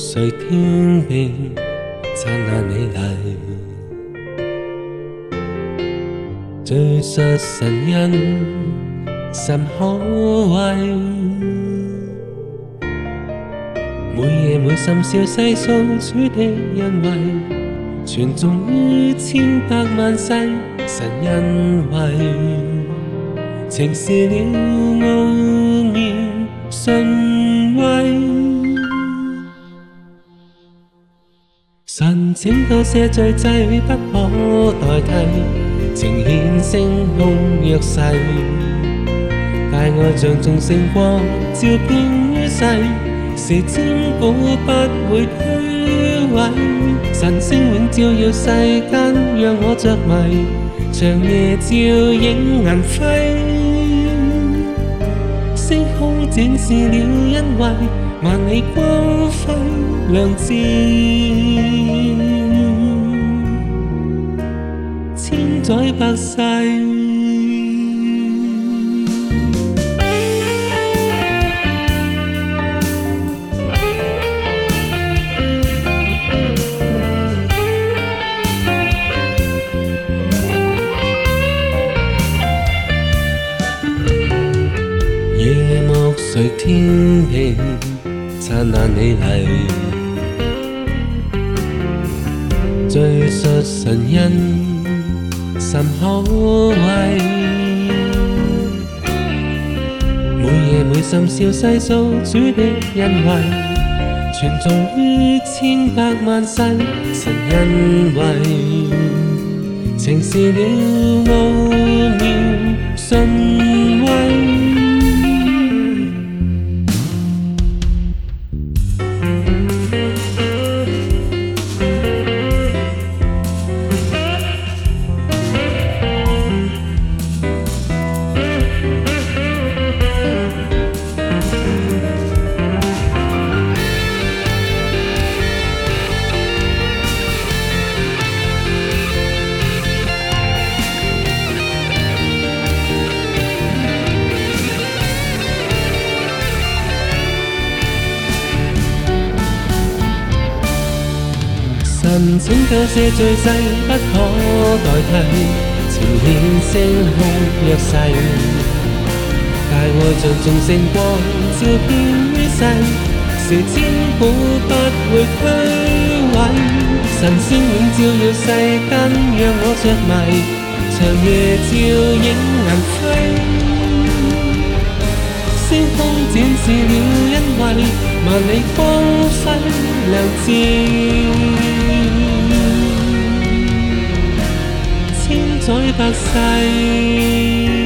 谁天边灿烂美丽，最述神恩甚可畏。每夜每深宵细數主的恩惠，傳頌於千百萬世，神恩惠，呈示了奧妙神威。神拯救赦罪祭不可代替，呈現聖空約誓，大愛像眾聖光照遍於世。是千古不會摧毀，神星永照耀世間，讓我着迷，長夜照影銀輝，星空展示了恩惠，萬里光輝亮照，千載百世。夜幕垂天平，燦爛美麗，敘述神恩甚可畏。每夜每深宵細數主的恩惠，傳頌於千百萬世，神恩惠，呈示了奧妙神威。神拯救赦罪祭不可代替，呈現聖空約誓，大愛像眾聖光照遍於世，是千古不會摧毀。神先永照耀世間，讓我着迷，長夜照影銀輝，星空展示了恩惠，萬里光輝亮照，千載百世。